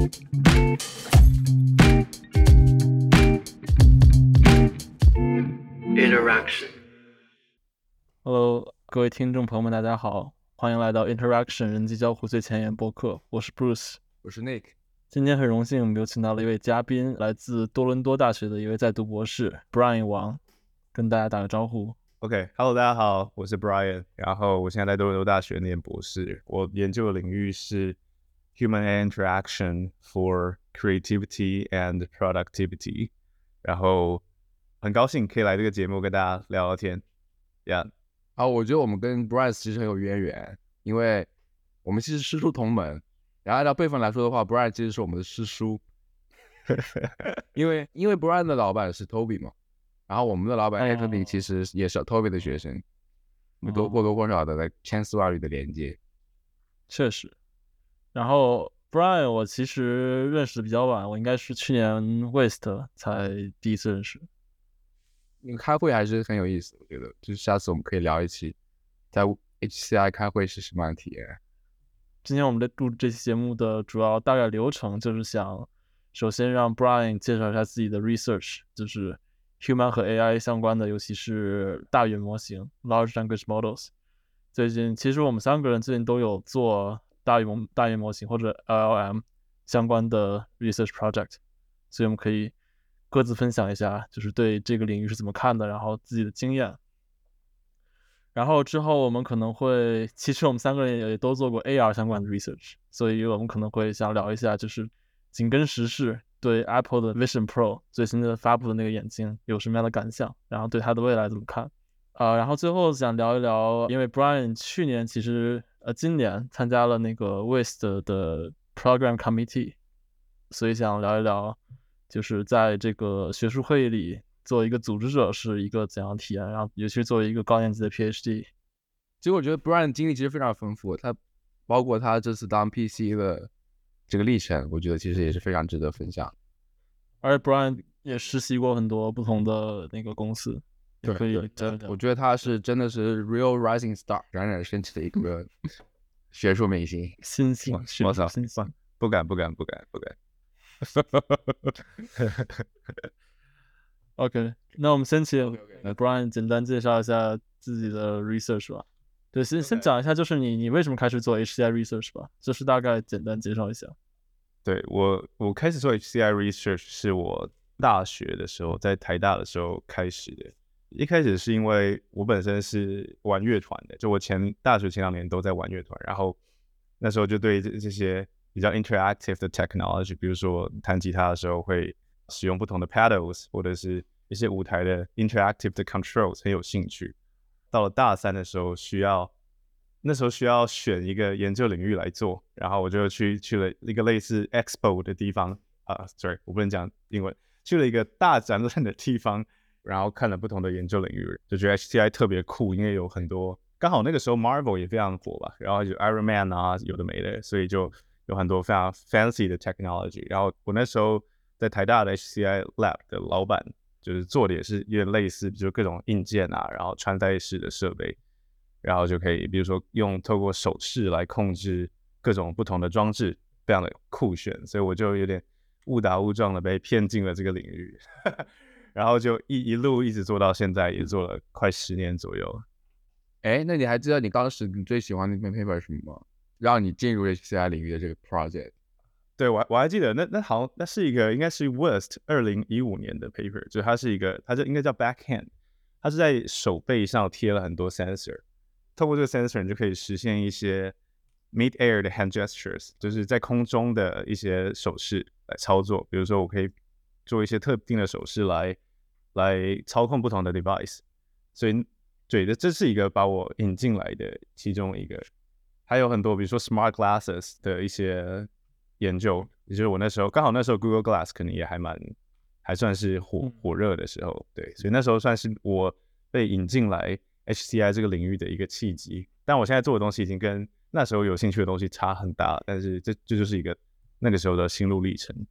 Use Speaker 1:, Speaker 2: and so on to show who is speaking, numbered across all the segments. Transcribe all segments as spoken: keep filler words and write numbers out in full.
Speaker 1: Interaction。
Speaker 2: Hello， 各位听众朋友们，大家好，欢迎来到 Interaction 人机交互最前沿播客，我是 Bruce，
Speaker 3: 我是 Nick。
Speaker 2: 今天很荣幸，我们有请到了一位嘉宾，来自多伦多大学的一位在读博士 Brian 王，跟大家打个招呼。
Speaker 4: OK，Hello，、okay, 大家好，我是 Brian， 然后我现在在多伦多大学念博士，我研究的领域是 Human Interaction for Creativity and Productivity， 然后很高兴可以来这个节目跟大家聊聊天。Yeah，
Speaker 3: 好，我觉得我们跟 Brian 其实很有渊源，因为我们其实师出同门。然后按照辈分来说的话 ，Brian 其实是我们的师叔，因为因为 Brian 的老板是 Toby 嘛，然后我们的老板 Anthony 其实也是 Toby 的学生，哦、多或多或少的在千丝万缕的连接。
Speaker 2: 确实。然后 Brian 我其实认识的比较晚，我应该是去年 West 才第一次认识。
Speaker 3: 那个开会还是很有意思，我觉得，就是下次我们可以聊一期在 H C I 开会是什么样的体验。
Speaker 2: 今天我们在录这期节目的主要大概流程就是想首先让 Brian 介绍一下自己的 research， 就是 human 和 A I 相关的，尤其是大语言模型 large language models。 最近其实我们三个人最近都有做大语言大语言模型或者 L L M 相关的 research project， 所以我们可以各自分享一下就是对这个领域是怎么看的，然后自己的经验。然后之后我们可能会，其实我们三个人也都做过 A R 相关的 research， 所以我们可能会想聊一下，就是紧跟时事对 Apple 的 Vision Pro 最新的发布的那个眼镜有什么样的感想，然后对它的未来怎么看。呃，然后最后想聊一聊，因为 Brian 去年其实呃今年参加了那个 West 的 Program Committee， 所以想聊一聊，就是在这个学术会议里做一个组织者是一个怎样的体验，然后尤其是作为一个高年级的 PhD。
Speaker 3: 其实我觉得 Brian 的经历其实非常丰富，他包括他这次当 P C 的这个历程，我觉得其实也是非常值得分享。
Speaker 2: 而且 Brian 也实习过很多不同的那个公司，
Speaker 3: 对，
Speaker 2: 可以
Speaker 3: 我觉得他是真的是 real rising star， 冉冉升起的一个学术明星，
Speaker 2: 新星，
Speaker 4: 我操，
Speaker 2: 新星，
Speaker 4: 不敢不敢不敢不敢。
Speaker 2: OK， 那我们先请 Brian 简单介绍一下自己的 research 吧。对，先先讲一下，就是你你为什么开始做 H C I research 吧，就是大概简单介绍一下。
Speaker 4: 对，我我开始做 H C I research 是我大学的时候，在台大的时候开始的。一开始是因为我本身是玩乐团的，就我前大学前两年都在玩乐团，然后那时候就对这这些比较 interactive 的 technology， 比如说弹吉他的时候会使用不同的 pedals， 或者是一些舞台的 interactive 的 controls 很有兴趣。到了大三的时候需要那时候需要选一个研究领域来做，然后我就去去了一个类似 expo 的地方啊、uh, sorry 我不能讲英文，去了一个大展览的地方，然后看了不同的研究领域，就觉得 H C I 特别酷，因为有很多刚好那个时候 Marvel 也非常火吧，然后就 Iron Man 啊有的没的，所以就有很多非常 fancy 的 technology。 然后我那时候在台大的 H C I lab 的老板就是做的也是有点类似，比如各种硬件啊，然后穿戴式的设备，然后就可以比如说用透过手势来控制各种不同的装置，非常的酷炫，所以我就有点误打误撞的被骗进了这个领域然后就 一, 一路一直做到现在，也做了快十年左右。
Speaker 3: 哎，那你还记得你当时你最喜欢的那篇 paper 是什么吗？让你进入 H C I 领域的这个 project？
Speaker 4: 对，我我还记得，那那好像那是一个应该是 West 二零一五年的 paper， 就它是一个，它就应该叫 backhand， 它是在手背上贴了很多 sensor， 透过这个 sensor 你就可以实现一些 mid air 的 hand gestures， 就是在空中的一些手势来操作，比如说我可以做一些特定的手势来来操控不同的 device， 所以对的，这是一个把我引进来的其中一个。还有很多比如说 smart glasses 的一些研究，也就是我那时候刚好那时候 Google Glass 可能也还蛮还算是火火热的时候，对，所以那时候算是我被引进来 H C I 这个领域的一个契机。但我现在做的东西已经跟那时候有兴趣的东西差很大，但是这这就是一个那个时候的心路历程。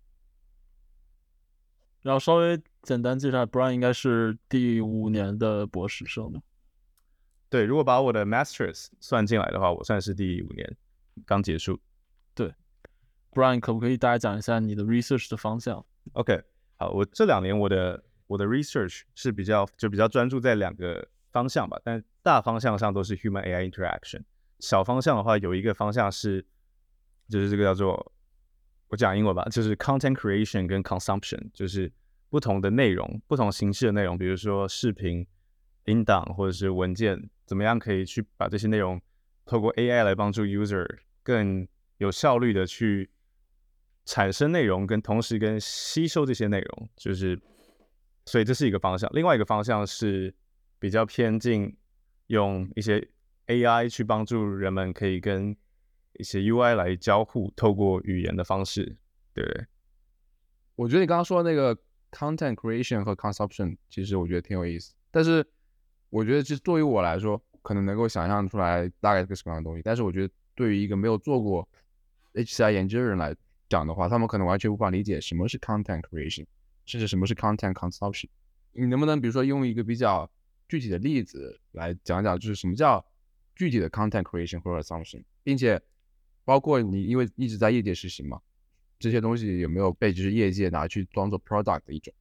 Speaker 2: 然后稍微简单介绍 Brian 应该是第五年的博士生吗？
Speaker 4: 对，如果把我的 Masters 算进来的话，我算是第五年刚结束。
Speaker 2: 对， Brian 可不可以大概讲一下你的 research 的方向？
Speaker 4: OK， 好，我这两年我的我的 research 是比较就比较专注在两个方向吧，但大方向上都是 human A I interaction。小方向的话，有一个方向是就是这个叫做我讲英文吧，就是 content creation 跟 consumption， 就是不同的内容、不同形式的内容，比如说视频、音档或者是文件，怎么样可以去把这些内容透过 A I 来帮助 user 更有效率的去产生内容，跟同时跟吸收这些内容，就是所以这是一个方向。另外一个方向是比较偏近用一些 A I 去帮助人们可以跟一些 U I 来交互，透过语言的方式，对不对？
Speaker 3: 我觉得你刚刚说的那个 content creation 和 consumption， 其实我觉得挺有意思。但是我觉得，其实对于我来说，可能能够想象出来大概是个什么样的东西。但是我觉得，对于一个没有做过 H C I 研究的人来讲的话，他们可能完全无法理解什么是 content creation， 甚至什么是 content consumption。你能不能比如说用一个比较具体的例子来讲讲，就是什么叫具体的 content creation 或者 consumption， 并且包括你因为一直在业界实习嘛，这些东西有没有被就是业界拿去当做 product 的一种？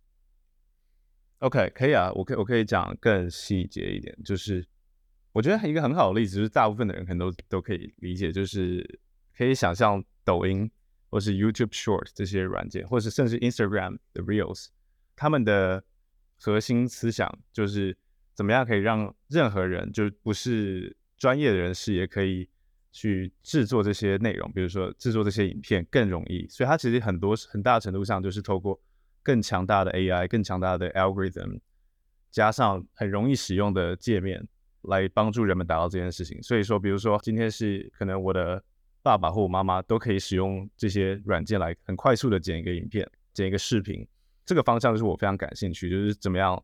Speaker 4: OK， 可以啊，我可以我可以讲更细节一点，就是我觉得一个很好的例子，就是大部分的人可能都都可以理解，就是可以想象抖音或是 YouTube Short 这些软件，或是甚至 Instagram 的 Reels， 他们的核心思想就是怎么样可以让任何人，就不是专业的人士也可以去制作这些内容，比如说制作这些影片更容易，所以它其实很多很大程度上就是透过更强大的 A I、更强大的 algorithm， 加上很容易使用的界面，来帮助人们达到这件事情。所以说，比如说今天是可能我的爸爸或我妈妈都可以使用这些软件来很快速的剪一个影片、剪一个视频，这个方向就是我非常感兴趣，就是怎么样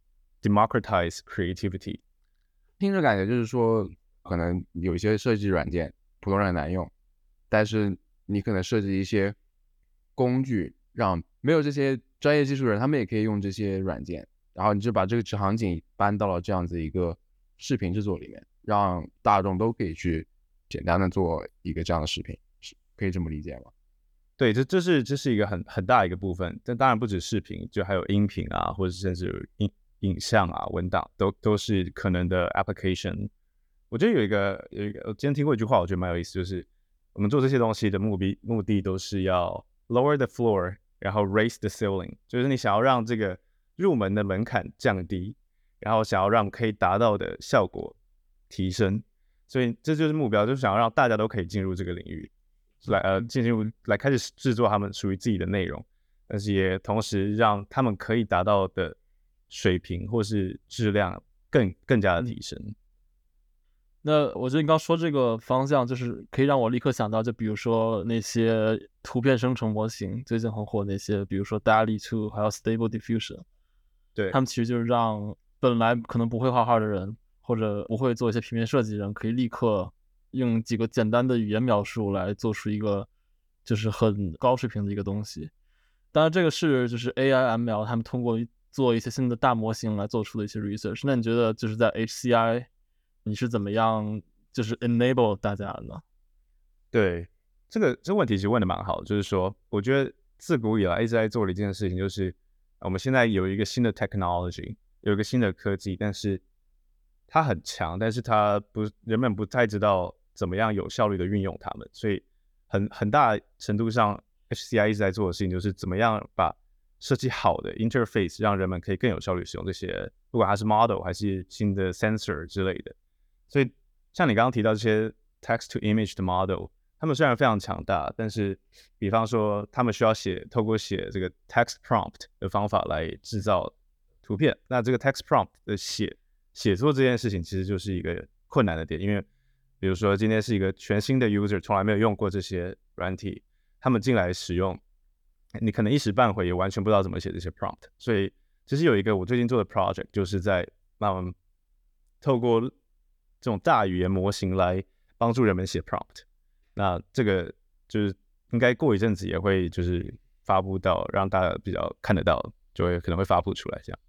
Speaker 4: democratize creativity。
Speaker 3: 听着感觉就是说，可能有一些设计软件普通人很难用，但是你可能设计一些工具，让没有这些专业技术人，他们也可以用这些软件，然后你就把这个场景搬到了这样子一个视频制作里面，让大众都可以去简单的做一个这样的视频，可以这么理解吗？
Speaker 4: 对，这这是这是一个很很大一个部分，但当然不止视频，就还有音频啊，或者甚至影影像啊、文档，都都是可能的 application。我觉得有一个有一个，我今天听过一句话，我觉得蛮有意思，就是我们做这些东西的目的目的都是要 lower the floor， 然后 raise the ceiling， 就是你想要让这个入门的门槛降低，然后想要让可以达到的效果提升，所以这就是目标，就是想要让大家都可以进入这个领域，来呃进入来开始制作他们属于自己的内容，但是也同时让他们可以达到的水平或是质量更更加的提升。
Speaker 2: 那我觉得你刚说这个方向，就是可以让我立刻想到，就比如说那些图片生成模型，最近很火那些，比如说 D A L L-E 二，还有 Stable Diffusion，
Speaker 4: 对，
Speaker 2: 他们其实就是让本来可能不会画画的人，或者不会做一些平面设计的人，可以立刻用几个简单的语言描述来做出一个就是很高水平的一个东西。当然，这个是就是 A I、M L 他们通过做一些新的大模型来做出的一些 research。那你觉得就是在 H C I？你是怎么样就是 enable 大家的呢？
Speaker 4: 对，这个这个问题其实问的蛮好，就是说，我觉得自古以来一直在做的一件事情，就是我们现在有一个新的 technology， 有一个新的科技，但是它很强，但是它不人们不太知道怎么样有效率的运用它们，所以很很大程度上 H C I 一直在做的事情就是怎么样把设计好的 interface 让人们可以更有效率使用这些，不管它是 model 还是新的 sensor 之类的。所以像你刚刚提到这些 text to image 的 model， 他们虽然非常强大，但是比方说他们需要写透过写这个 text prompt 的方法来制造图片，那这个 text prompt 的写写作这件事情其实就是一个困难的点，因为比如说今天是一个全新的 user， 从来没有用过这些软体，他们进来使用，你可能一时半会也完全不知道怎么写这些 prompt。所以其实有一个我最近做的 project， 就是在让我们透过这种大语言模型来帮助人们写 prompt。那这个就是应该过一阵子也会就是发布到让大家比较看得到，就会可能会发布出来这样。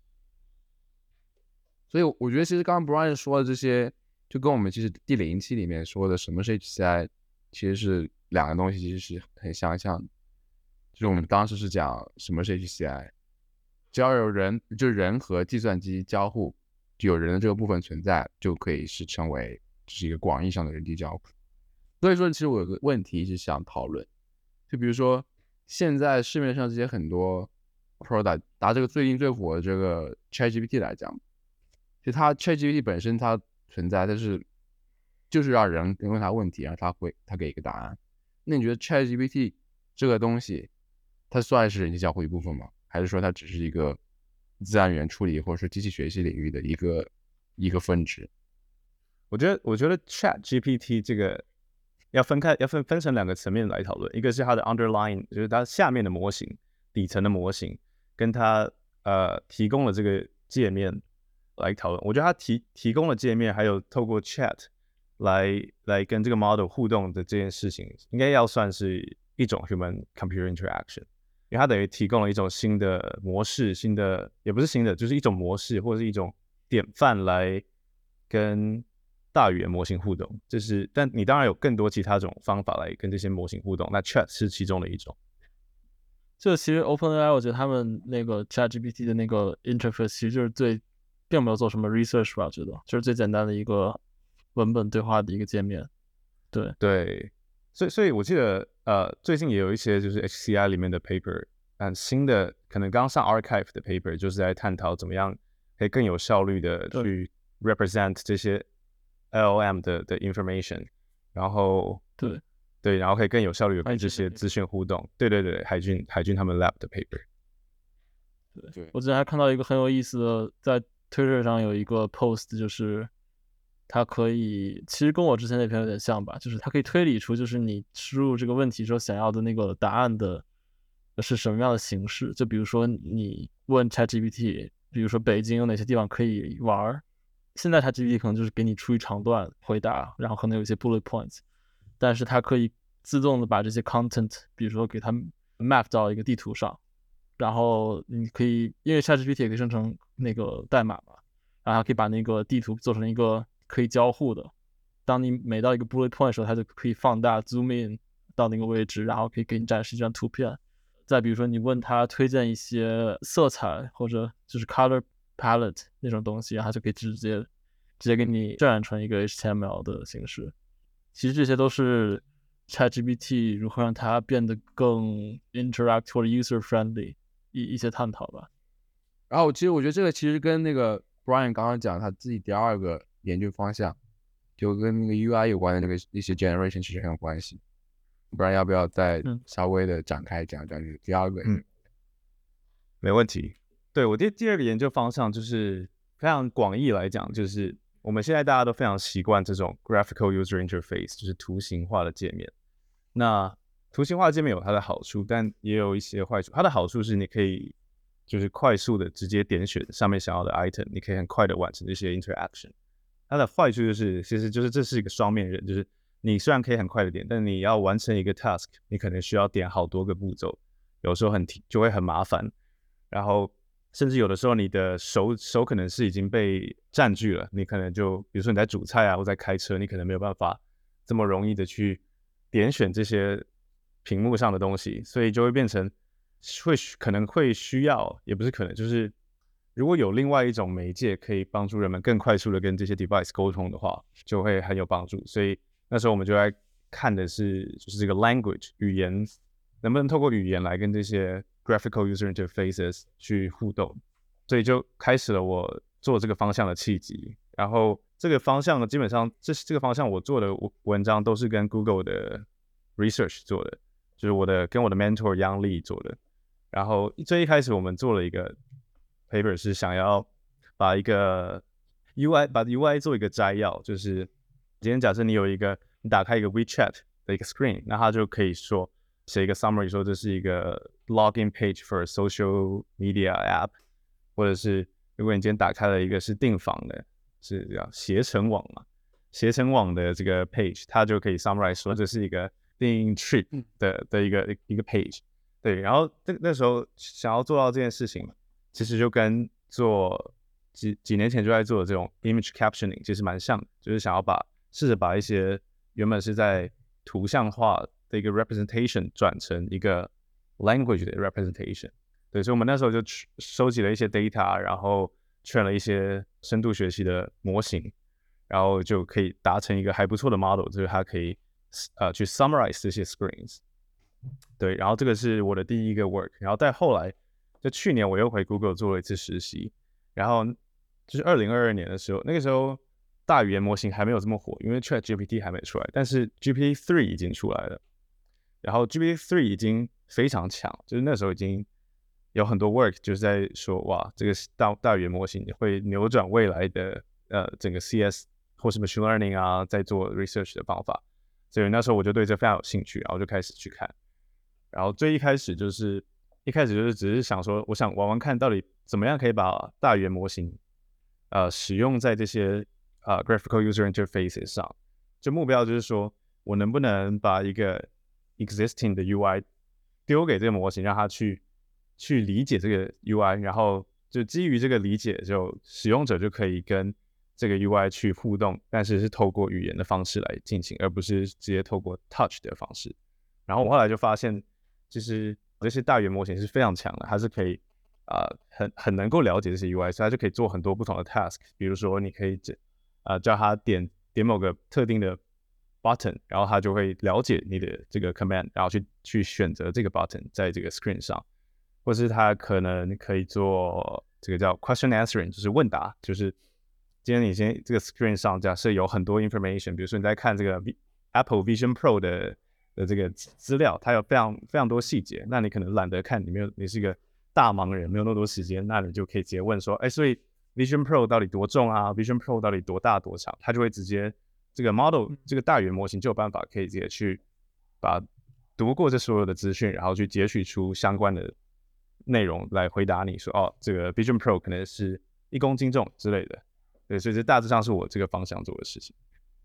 Speaker 3: 所以我觉得其实刚刚 Brian 说的这些，就跟我们其实第零期里面说的什么是 H C I 其实是两个东西，其实是很相像的。就是我们当时是讲什么是 H C I， 只要有人，就是人和计算机交互，就有人的这个部分存在，就可以是称为是一个广义上的人机交互。所以说，其实我有个问题一直想讨论，就比如说现在市面上这些很多 product， 拿这个最近最火的这个 ChatGPT 来讲，就它 ChatGPT 本身它存在，但是就是让人问它问题，然后它会它给一个答案。那你觉得 ChatGPT 这个东西，它算是人机交互一部分吗？还是说它只是一个自然语言处理或者说机器学习领域的一个一个分支？
Speaker 4: 我觉得，我觉得 ChatGPT 这个要分开，要分分成两个层面来讨论，一个是它的 underlying， 就是它下面的模型，底层的模型，跟它呃提供的这个界面来讨论。我觉得它提提供的界面，还有透过 Chat 来来跟这个 model 互动的这件事情，应该要算是一种 human computer interaction， 因为它等于提供了一种新的模式，新的也不是新的，就是一种模式或者是一种典范来跟大语言模型互动。这是，但你当然有更多其他种方法来跟这些模型互动，那 Chat 是其中的一种。
Speaker 2: 就其实 OpenAI 我觉得他们那个 ChatGPT 的那个 interface 其实就是最并没有做什么 research 吧，我觉得就是最简单的一个文本对话的一个界面。对
Speaker 4: 对，所以所以我记得呃最近也有一些就是 H C I 里面的 paper， 但新的可能刚上 archive 的 paper 就是在探讨怎么样可以更有效率的去 represent 这些 L L M 的的 information， 然后
Speaker 2: 对
Speaker 4: 对，然后可以更有效率的跟这些资讯互动。对对对，海军海军他们 lab 的 paper。
Speaker 2: 对，
Speaker 3: 对
Speaker 2: 我之前还看到一个很有意思的，在 Twitter 上有一个 post，就是它可以，其实跟我之前那篇有点像吧，就是它可以推理出就是你输入这个问题时候想要的那个答案的是什么样的形式。就比如说你问 ChatGPT， 比如说北京有哪些地方可以玩，现在 ChatGPT 可能就是给你出一长段回答，然后可能有一些 bullet points， 但是它可以自动的把这些 content， 比如说给它 map 到一个地图上。然后你可以，因为 ChatGPT 也可以生成那个代码嘛，然后它可以把那个地图做成一个可以交互的。当你每到一个 bullet point 的时候，它就可以放大 zoom in 到那个位置，然后可以给你展示一张图片。再比如说你问它推荐一些色彩或者就是 color palette 那种东西，然后它就可以直接直接给你渲染成一个 H T M L 的形式。其实这些都是 ChatGPT 如何让它变得更 interact 或者 user friendly。一一些探讨吧。
Speaker 3: 然后其实我觉得这个其实跟那个 Brian 刚刚讲他自己第二个研究方向，就跟那个 U I 有关的那个一些 generation 其实很有关系。不然要不要再稍微的展开讲讲这个第二个？
Speaker 4: 嗯，没问题。对，我第第二个研究方向就是非常广义来讲，就是我们现在大家都非常习惯这种 graphical user interface， 就是图形化的界面。那图形化界面有它的好处，但也有一些坏处。它的好处是你可以就是快速的直接点选上面想要的 item， 你可以很快的完成这些 interaction。它的坏处就是，其实就是这是一个双面刃，就是你虽然可以很快的点，但你要完成一个 task， 你可能需要点好多个步骤，有时候很就会很麻烦。然后甚至有的时候你的手手可能是已经被占据了，你可能就比如说你在煮菜啊，或在开车，你可能没有办法这么容易的去点选这些屏幕上的东西，所以就会变成会可能会需要，也不是可能，就是如果有另外一种媒介可以帮助人们更快速的跟这些 device 沟通的话，就会很有帮助。所以那时候我们就在看的是，就是这个 language 语言能不能透过语言来跟这些 graphical user interfaces 去互动，所以就开始了我做这个方向的契机。然后这个方向基本上这这个方向我做的文章都是跟 Google 的 research 做的，就是我的跟我的 mentor Yang Li 做的。然后最一开始我们做了一个 paper 是想要把一个 U I 把 U I 做一个摘要，就是今天假设你有一个你打开一个 WeChat 的一个 screen， 那它就可以说写一个 summary 说这是一个 login page for a social media app， 或者是如果你今天打开了一个是订房的，是叫携程网嘛，携程网的这个 page， 它就可以 summarize 说这是一个订 trip 的的一个一个 page。对，然后那那时候想要做到这件事情，其实就跟做几几年前就在做的这种 image captioning 其实蛮像的，就是想要把试着把一些原本是在图像化的一个 representation 转成一个 language 的 representation。对，所以我们那时候就收集了一些 data， 然后train了一些深度学习的模型，然后就可以达成一个还不错的 model， 就是它可以呃去 summarize 这些 screens。对，然后这个是我的第一个 work， 然后再后来，就去年我又回 Google 做了一次实习，然后就是二零二二年的时候，那个时候大语言模型还没有这么火，因为 ChatGPT 还没出来，但是 G P T 三 已经出来了，然后 G P T 三 已经非常强，就是那时候已经有很多 work 就是在说，哇，这个大大语言模型会扭转未来的呃整个 C S 或是 machine learning 啊，在做 research 的方法，所以那时候我就对这非常有兴趣，然后就开始去看。然后最一开始就是一开始就是只是想说，我想玩玩看到底怎么样可以把大语言模型呃使用在这些呃 graphical user interfaces 上。就目标就是说我能不能把一个 existing 的 U I 丢给这个模型，让它去去理解这个 U I， 然后就基于这个理解，就使用者就可以跟这个 U I 去互动，但是是透过语言的方式来进行，而不是直接透过 touch 的方式。然后我后来就发现，其实这些大语言模型是非常强的，它是可以啊、呃、很很能够了解这些 U I， 所以它就可以做很多不同的 task。比如说，你可以啊、呃、叫它点点某个特定的 button， 然后它就会了解你的这个 command， 然后去去选择这个 button 在这个 screen 上，或是它可能可以做这个叫 question answering， 就是问答，就是今天你先这个 screen 上假设有很多 information， 比如说你在看这个 Apple Vision Pro 的的这个资料，它有非常非常多细节，那你可能懒得看，你没有你是一个大忙人，没有那么多时间，那你就可以直接问说，哎，所以 Vision Pro 到底多重啊 ？Vision Pro 到底多大多长？它就会直接这个 model 这个大语言模型就有办法可以直接去把读过这所有的资讯，然后去截取出相关的内容来回答你说，哦，这个 Vision Pro 可能是一公斤重之类的。对，所以这大致上是我这个方向做的事情。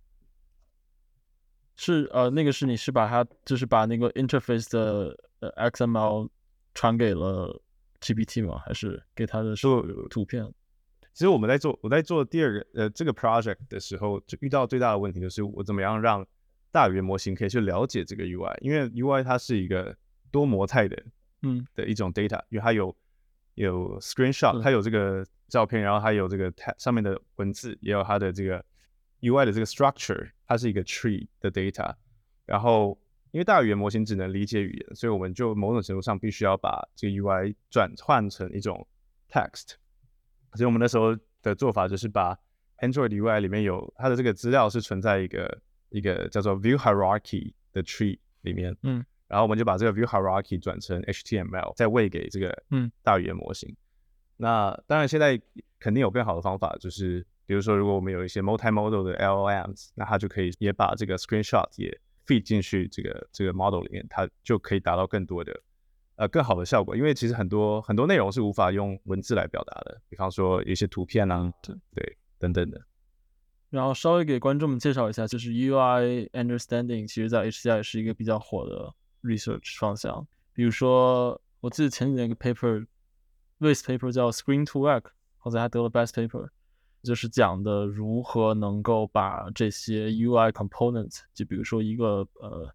Speaker 2: 是呃，那个是你是把它就是把那个 interface 的呃 X M L 传给了 G P T 吗？还是给它的图片？
Speaker 4: 其实我们在做我在做第二个呃这个 project 的时候，就遇到最大的问题就是我怎么样让大语言模型可以去了解这个 U I， 因为 U I 它是一个多模态的嗯的一种 data， 因为它有有 screenshot， 它有这个照片，然后它有这个上面的文字，也有它的这个 U I 的这个 structure， 它是一个 tree 的 data。然后因为大语言模型只能理解语言，所以我们就某种程度上必须要把这个 U I 转换成一种 text。所以我们那时候的做法就是把 Android U I 里面有它的这个资料是存在一个一个叫做 view hierarchy 的 tree 里面，嗯，然后我们就把这个 view hierarchy 转成 H T M L， 再喂给这个大语言模型。嗯、那当然现在肯定有更好的方法，就是比如说如果我们有一些 multimodal 的 L L Ms， 那它就可以也把这个 screenshot 也 feed 进去这个这个 model 里面，它就可以达到更多的呃更好的效果。因为其实很多很多内容是无法用文字来表达的，比方说有一些图片啊，对对等等的。
Speaker 2: 然后稍微给观众们介绍一下，就是 U I understanding 其实在 H C I 是一个比较火的 research 方向。比如说我记得前几年一个 paper Lewis paper 叫 Screen to Work， 好像还得了 best paper， 就是讲的如何能够把这些 U I component， 就比如说一个呃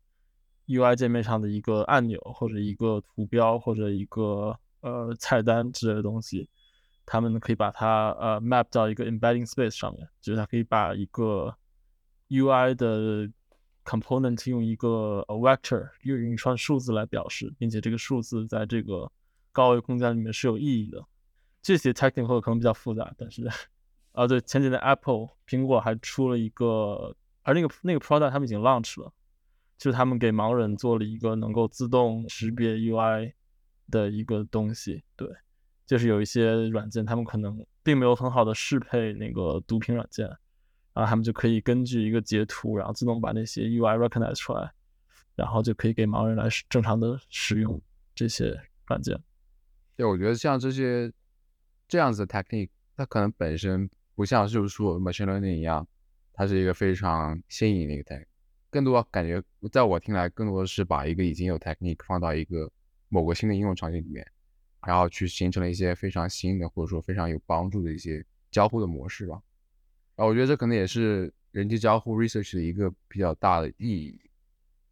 Speaker 2: U I 界面上的一个按钮或者一个图标或者一个呃菜单之类的东西，他们可以把它呃 map 到一个 embedding space 上面，就是它可以把一个 U I 的 component 用一个 vector 用一串数字来表示，并且这个数字在这个高维空间里面是有意义的。这些 technical 可能比较复杂，但是啊对，前几年 Apple 苹果还出了一个，而那个那个 product 他们已经 launch 了，就是他们给盲人做了一个能够自动识别 U I 的一个东西，对。就是有一些软件，他们可能并没有很好的适配那个读屏软件，然后他们就可以根据一个截图，然后自动把那些 U I recognize 出来，然后就可以给盲人来正常的使用这些软件。
Speaker 3: 对，我觉得像这些这样子的 technique， 它可能本身不像就是说 machine learning 一样，它是一个非常新颖的一个 technique， 更多感觉在我听来，更多的是把一个已经有 technique 放到一个某个新的应用场景里面。然后去形成了一些非常新的或者说非常有帮助的一些交互的模式吧。然后我觉得这可能也是人机交互 research 的一个比较大的意义。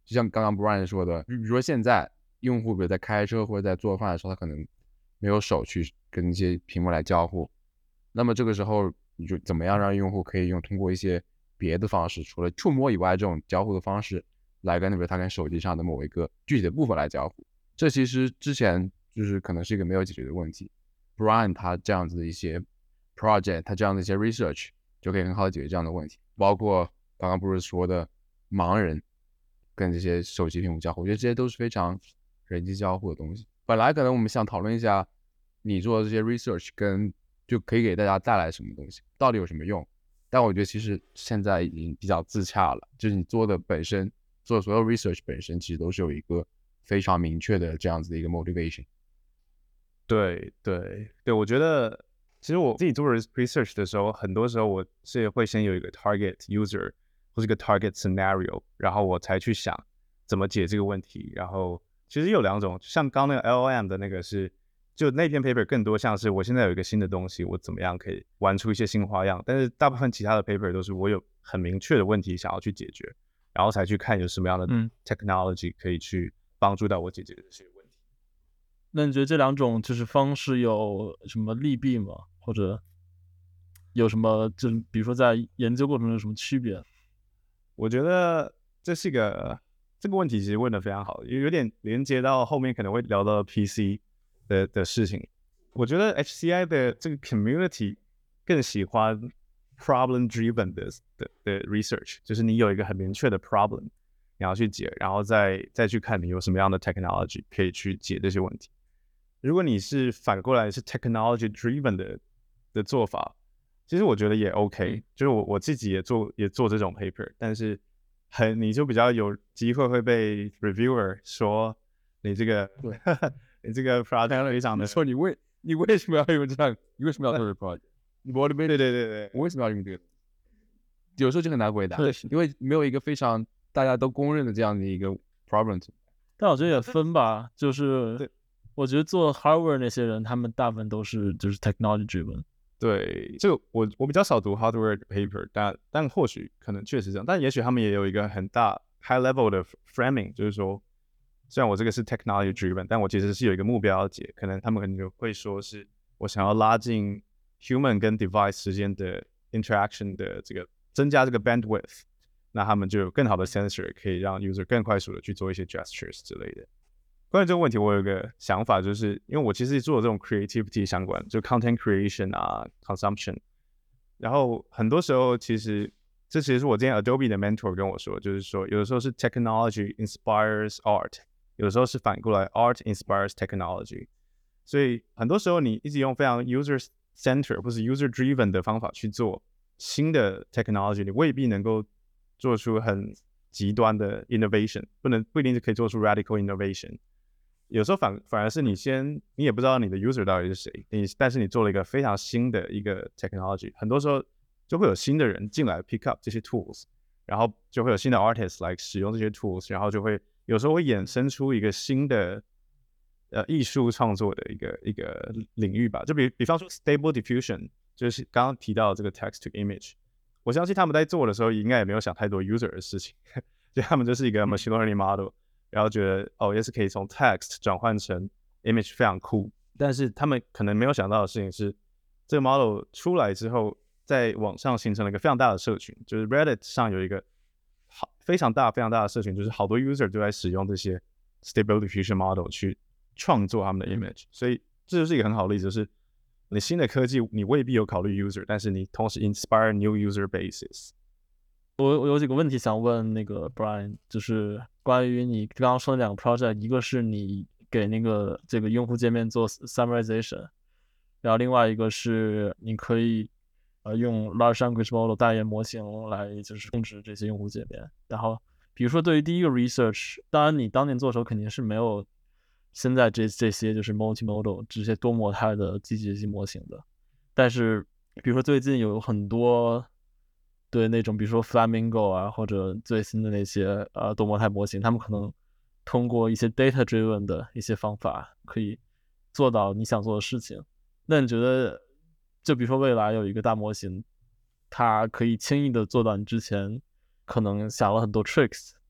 Speaker 3: 就像刚刚 Brian 说的，比如说现在用户比如在开车或者在做饭的时候，他可能没有手去跟一些屏幕来交互，那么这个时候你就怎么样让用户可以用通过一些别的方式，除了触摸以外这种交互的方式，来跟比如他跟手机上的某一个具体的部分来交互。这其实之前就是可能是一个没有解决的问题。Brian 他这样子的一些 project， 他这样的一些 research 就可以很好的解决这样的问题，包括刚刚 Bruce 说的盲人跟这些手机屏幕交互，我觉得这些都是非常人机交互的东西。本来可能我们想讨论一下你做的这些 research 跟就可以给大家带来什么东西，到底有什么用，但我觉得其实现在已经比较自洽了，就是你做的本身做所有 research 本身其实都是有一个非常明确的这样子的一个 motivation。
Speaker 4: 对对对，我觉得其实我自己做 research 的时候，很多时候我是会先有一个 target user 或是一个 target scenario， 然后我才去想怎么解这个问题。然后其实有两种，像刚那个 L L M 的那个是，就那篇 paper 更多像是我现在有一个新的东西，我怎么样可以玩出一些新花样。但是大部分其他的 paper 都是我有很明确的问题想要去解决，然后才去看有什么样的 technology 可以去帮助到我解决这些问题。
Speaker 2: 那你觉得这两种就是方式有什么利弊吗？或者有什么就是比如说在研究过程中有什么区别？
Speaker 4: 我觉得这是一个这个问题其实问得非常好，有点连接到后面可能会聊到 P C 的的事情。我觉得 H C I 的这个 community 更喜欢 problem driven 的的的 research， 就是你有一个很明确的 problem 你要去解，然后再再去看你有什么样的 technology 可以去解这些问题。如果你是反过来是 technology driven 的的做法，其实我觉得也 OK， 就是我我自己也做也做这种 paper， 但是很你就比较有机会会被 reviewer 说你这个你这个 project 非常的
Speaker 3: 说你为你为什么要用这样？你为什么要做这个 project？ 你 motivate
Speaker 4: 对对对对，
Speaker 3: 我为什么要用这个？有时候就很难回答，因为没有一个非常大家都公认的这样的一个 problem。
Speaker 2: 但我觉得也分吧，就是我觉得做 hardware 那些人，他们大部分都是就是 technology driven。
Speaker 4: 对，这个我我比较少读 hardware paper， 但但或许可能确实这样，但也许他们也有一个很大 high level 的 framing， 就是说，虽然我这个是 technology driven， 但我其实是有一个目标要解，可能他们可能就会说是我想要拉近 human 跟 device 之间的 interaction 的这个增加这个 bandwidth， 那他们就有更好的 sensor 可以让 user 更快速的去做一些 gestures 之类的。关于这个问题，我有一个想法，就是因为我其实做这种 creativity 相关，就 content creation 啊 ，consumption， 然后很多时候其实这其实是我之前 Adobe 的 mentor 跟我说，就是说有的时候是 technology inspires art， 有的时候是反过来 art inspires technology， 所以很多时候你一直用非常 user center 或是 user driven 的方法去做新的 technology， 你未必能够做出很极端的 innovation， 不能不一定是可以做出 radical innovation。有时候反反而是你先，你也不知道你的 user 到底是谁，你但是你做了一个非常新的一个 technology， 很多时候就会有新的人进来 pick up 这些 tools， 然后就会有新的 artists 来使用这些 tools， 然后就会有时候会衍生出一个新的呃艺术创作的一个一个领域吧。就比比方说 stable diffusion， 就是刚刚提到这个 text to image， 我相信他们在做的时候应该也没有想太多 user 的事情，就他们就是一个 machine learning model。然后觉得哦，也是可以从 text 转换成 image， 非常酷。但是他们可能没有想到的事情是，这个 model 出来之后，在网上形成了一个非常大的社群，就是 Reddit 上有一个好非常大非常大的社群，就是好多 user 都在使用这些 stable diffusion model 去创作他们的 image。所以这就是一个很好的例子，就是你新的科技你未必有考虑 user， 但是你同时 inspire new user bases。
Speaker 2: 我我有几个问题想问那个 Brian， 就是关于你刚刚说的两个 project， 一个是你给那个这个用户界面做 summarization， 然后另外一个是你可以呃用 large language model 大语言模型来就是控制这些用户界面。然后比如说对于第一个 research， 当然你当年做的时候肯定是没有现在这这些就是 multimodal 这些多模态的机器学习模型的，但是比如说最近有很多对那种比如说 Flamingo 啊，或者最新的那些呃多模态模型，他们可能通过一些 data driven 的一些方法可以做到你想做的事情。那你觉得就比如说未来有一个大模型，它可以轻易的做到你之前可能想了很多 tricks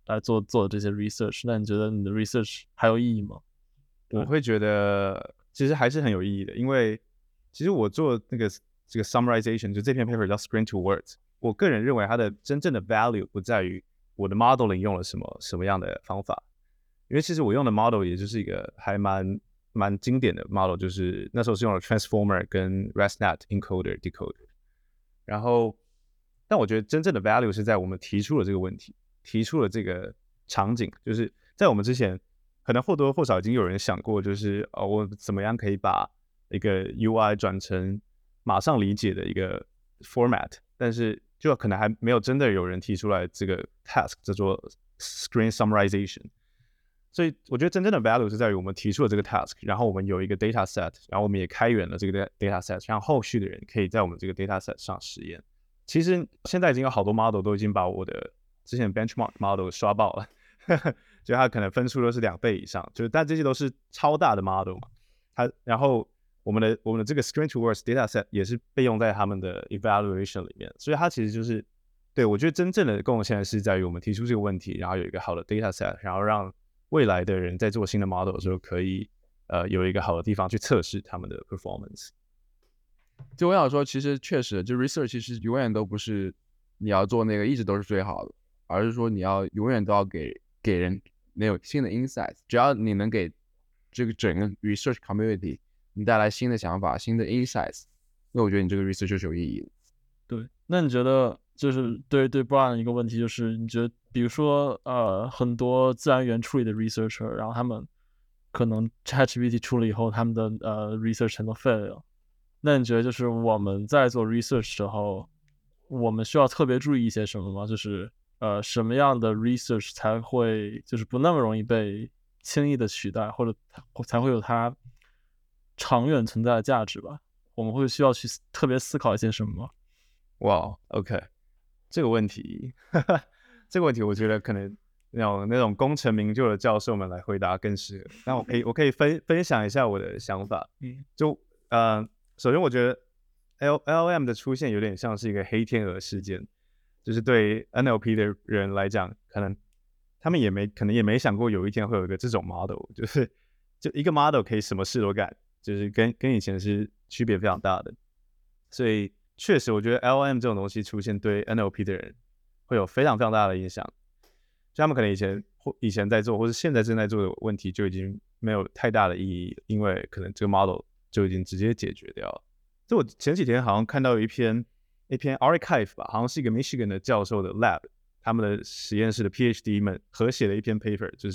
Speaker 2: 来做做这些 research， 那你觉得你的 research 还有意义吗？
Speaker 4: 我会觉得其实还是很有意义的，因为其实我做那个这个 summarization， 就这篇 paper 叫 Screen to Words， 我个人认为它的真正的 value 不在于我的 modeling 用了什么什么样的方法，因为其实我用的 model 也就是一个还蛮蛮经典的 model， 就是那时候是用了 transformer 跟 ResNet encoder decoder， 然后但我觉得真正的 value 是在我们提出了这个问题，提出了这个场景，就是在我们之前可能或多或少已经有人想过，就是哦，我怎么样可以把一个 U I 转成马上理解的一个 format， 但是就可能还没有真的有人提出来这个 task 叫做 screen summarization。所以我觉得真正的 value 是在于我们提出了这个 task， 然后我们有一个 data set， 然后我们也开源了这个 data set， 让后续的人可以在我们这个 data set 上实验。其实现在已经有好多 model 都已经把我的之前 benchmark model 刷爆了，就它可能分数都是两倍以上，就是但这些都是超大的 model 嘛。它然后我们的我们的这个 Screen to Words data set 也是被用在他们的 evaluation 里面，所以它其实就是对我觉得真正的贡献是在于我们提出这个问题，然后有一个好的 data set， 然后让未来的人在做新的 model 的时候可以呃有一个好的地方去测试他们的 performance。
Speaker 3: 就我想说，其实确实，就 research 其实永远都不是你要做那个一直都是最好的，而是说你要永远都要给给人没有新的 insights。只要你能给这个整个 research community 你带来新的想法、新的 insights， 那我觉得你这个 research 就是有意义的。
Speaker 2: 对，那你觉得就是对对 Brian 一个问题就是，你觉得比如说呃很多自然语言处理的 researcher， 然后他们可能 ChatGPT 出了以后，他们的呃 research 全都废了。那你觉得就是我们在做 research 时候，我们需要特别注意一些什么吗？就是呃什么样的 research 才会就是不那么容易被轻易的取代，或者才会有它长远存在的价值吧？我们会需要去特别思考一些什么吗？
Speaker 4: 哇、wow, ，OK， 这个问题，这个问题我觉得可能那种那种功成名就的教授们来回答更适合。那我可以我可以分分享一下我的想法。
Speaker 2: 嗯，
Speaker 4: 就呃，首先我觉得 L LM 的出现有点像是一个黑天鹅事件，就是对 N L P 的人来讲，可能他们也没可能也没想过有一天会有一个这种 model， 就是就一个 model 可以什么事都干，就是跟跟以前是区别非常大的。所以确实我觉得 L M 这种东西出现对 N L P 的人会有非常非常大的影响，就他们可能以前或以前在做或是现在正在做的问题就已经没有太大的意义，因为可能这个 model 就已经直接解决掉了。就我前几天好像看到一篇一篇 archive 吧，好像是一个 Michigan 的教授的 lab， 他们的实验室的 PhD 们合写了一篇 paper， 就是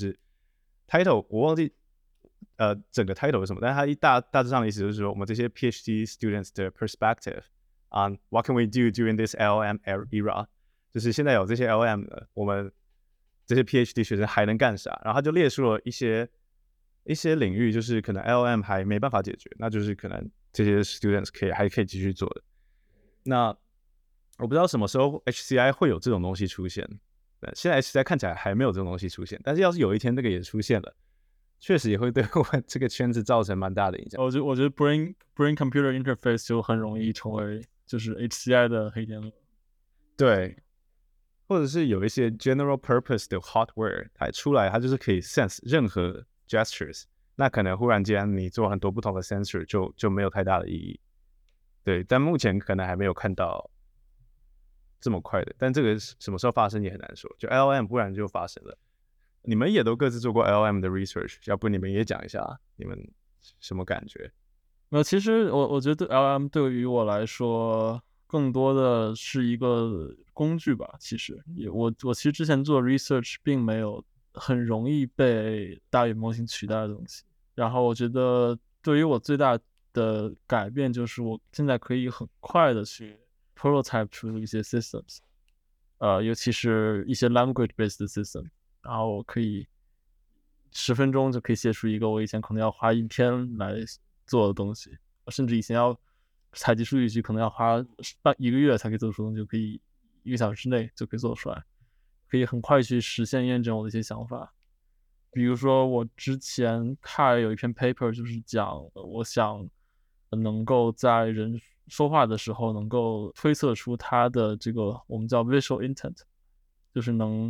Speaker 4: title 我忘记呃整个 title 是什么，但是它一大大致上的意思就是说，我们这些 PhD students 的 perspective on what can we do during this L M era， 就是现在有这些 L M 了，我们这些 PhD 学生还能干啥？然后他就列出了一些一些领域，就是可能 L M 还没办法解决，那就是可能这些 students 可以还可以继续做的。那我不知道什么时候 H C I 会有这种东西出现，现在 H C I 看起来还没有这种东西出现，但是要是有一天这个也出现了，确实也会对我们这个圈子造成蛮大的影响。
Speaker 2: 我觉得我觉得 brain brain computer interface 就很容易成为就是 H C I 的黑天鹅。
Speaker 4: 对，或者是有一些 general purpose 的 hardware 它出来，它就是可以 sense 任何 gestures， 那可能忽然间你做很多不同的 sensor 就就没有太大的意义。对，但目前可能还没有看到这么快的，但这个什么时候发生也很难说。就 L M 忽然就发生了，你们也都各自做过 L M 的 research， 要不你们也讲一下你们什么感觉？
Speaker 2: 没有，其实我我觉得 L M 对于我来说更多的是一个工具吧。其实也我我其实之前做 research 并没有很容易被大语模型取代的东西。然后我觉得对于我最大的改变就是我现在可以很快的去 prototype 出一些 systems， 呃，尤其是一些 language based system， 然后我可以十分钟就可以写出一个我以前可能要花一天来做的东西，甚至以前要采集数据集可能要花半一个月才可以做出东西，就可以一个小时之内就可以做出来，可以很快去实现验证我的一些想法。比如说我之前看有一篇 paper 就是讲我想能够在人说话的时候能够推测出他的这个我们叫 visual intent， 就是能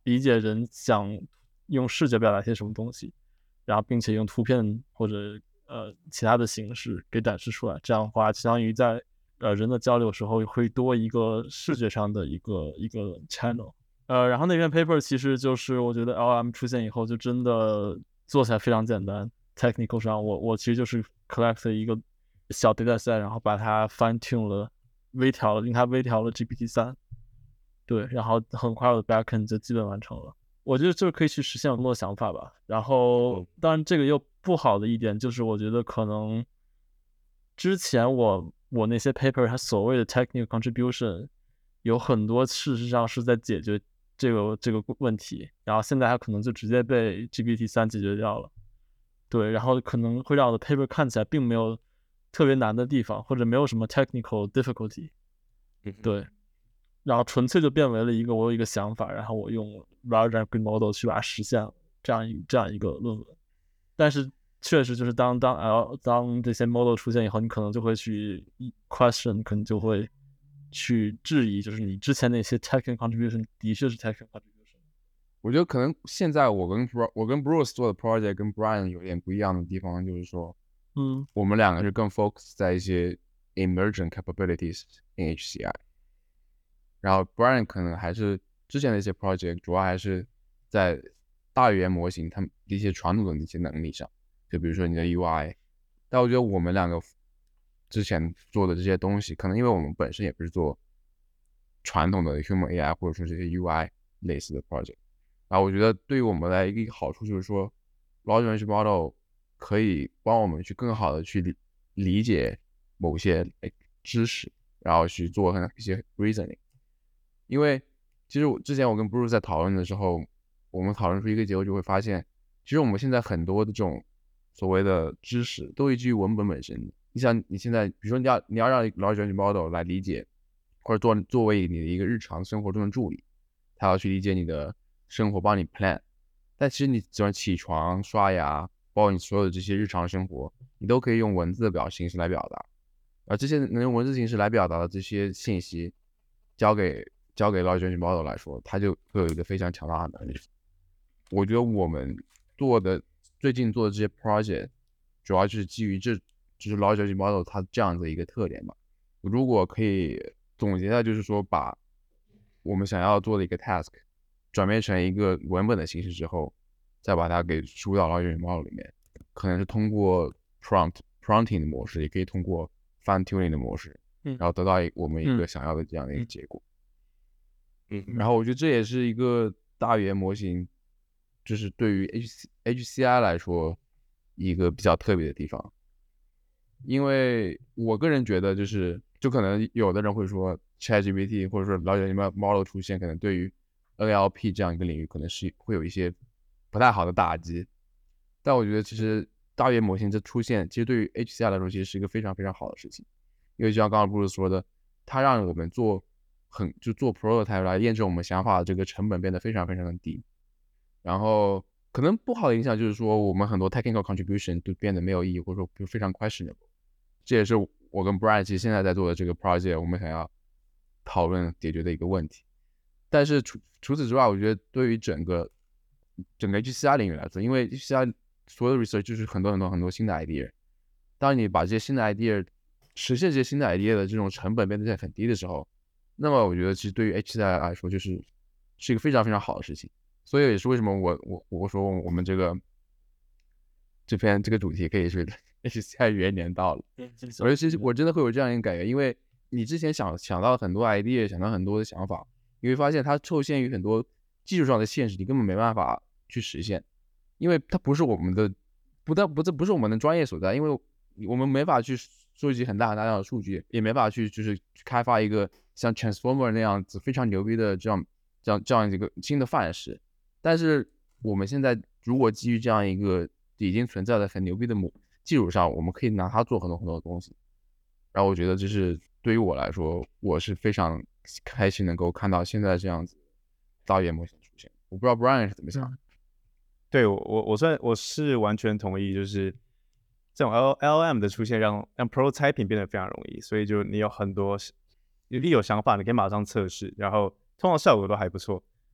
Speaker 2: 理解人想用视觉表达些什么东西，然后并且用图片或者呃其他的形式给展示出来。这样的话，相当于在呃人的交流时候会多一个视觉上的一个一个 channel。呃，然后那篇 paper 其实就是我觉得 L M 出现以后就真的做起来非常简单。technical 上我我其实就是 collect 一个小 dataset， 然后把它 fine tune 了，微调了，令它微调了 G P T 三。对，然后很快我的 backend 就基本完成了。我觉得就是可以去实现很多想法吧。然后当然这个又不好的一点就是我觉得可能之前我我那些 paper 它所谓的 technical contribution 有很多事实上是在解决这个这个问题，然后现在它可能就直接被 G P T 三 解决掉了。对，然后可能会让我的 paper 看起来并没有特别难的地方，或者没有什么 technical difficulty。对，然后纯粹就变为了一个我有一个想法，然后我用 large language model 去把它实现了这样一这样一个论文。但是确实就是当当 L 当这些 model 出现以后，你可能就会去 question， 可能就会去质疑，就是你之前那些 technical contribution 的确是 technical contribution。
Speaker 3: 我觉得可能现在我跟 Bru 我跟 Bruce 做的 project 跟 Brian 有点不一样的地方，就是说，
Speaker 2: 嗯，
Speaker 3: 我们两个是更 focus 在一些 emergent capabilities in H C I， 然后 Brian 可能还是之前的一些 project 主要还是在大语言模型他们一些传统的一些能力上，就比如说你的 U I。但我觉得我们两个之前做的这些东西，可能因为我们本身也不是做传统的 human A I 或者说这些 U I 类似的 project。然后我觉得对于我们来一个好处就是说 large language model 可以帮我们去更好的去理理解某些知识，然后去做一些 reasoning。因为其实我之前我跟 Bruce 在讨论的时候，我们讨论出一个结果，就会发现其实我们现在很多的这种所谓的知识都依据于文本本身。你想你现在比如说你要你要让 large language model 来理解，或者做作为你的一个日常生活中的助理，它要去理解你的生活，帮你 plan。 但其实你只要起床刷牙，包括你所有的这些日常生活，你都可以用文字的表形式来表达，而这些能用文字形式来表达的这些信息交给交给 large language model 来说，它就会有一个非常强大的能力。我觉得我们做的最近做的这些 project 主要就是基于这就是 large language model 它这样的一个特点吧。如果可以总结一下，就是说把我们想要做的一个 task 转变成一个文本的形式之后，再把它给输到 large language model 里面，可能是通过 prompt prompting 的模式，也可以通过 fine tuning 的模式，然后得到我们一个想要的这样的一个结果。嗯，然后我觉得这也是一个大语言模型，就是对于 H C I 来说一个比较特别的地方。因为我个人觉得就是就可能有的人会说 ChatGPT 或者说 large language model 出现，可能对于 N L P 这样一个领域可能是会有一些不太好的打击。但我觉得其实大语言模型这出现，其实对于 H C I 来说其实是一个非常非常好的事情。因为就像刚刚布鲁斯说的，它让我们做很就做 prototype 来验证我们想法的这个成本变得非常非常的低。然后可能不好的影响就是说我们很多 technical contribution 都变得没有意义，或者说非常 questionable。这也是我跟 Brian 其实现在在做的这个 project 我们想要讨论解决的一个问题。但是除除此之外，我觉得对于整个整个 H C I 领域来说，因为 H C I 所有的 research 就是很多很多很多新的 idea， 当你把这些新的 idea 实现这些新的 idea 的这种成本变得很低的时候，那么我觉得其实对于 H C I 来说就是是一个非常非常好的事情。所以也是为什么我我我说我们这个这篇这个主题可以是 H C I 元年到了。我觉得其实我真的会有这样一个感觉，因为你之前想想到很多 idea， 想到很多的想法，你会发现它受限于很多技术上的限制，你根本没办法去实现，因为它不是我们的不但不这不是我们的专业所在，因为我们没法去收集很大很大量的数据，也没法去就是开发一个像 Transformer 那样子非常牛逼的这样这样这样一个新的范式。但是我们现在如果基于这样一个已经存在的很牛逼的基础上，我们可以拿它做很多很多的东西。然后我觉得这是对于我来说，我是非常开心能够看到现在这样子大语言模型出现。我不知道 Brian 是怎么想。
Speaker 4: 对，我我我算我是完全同意，就是这种 L L M 的出现让让 prototyping 变得非常容易，所以就你有很多一有想法，你可以马上测试，然后通常效果都还不错。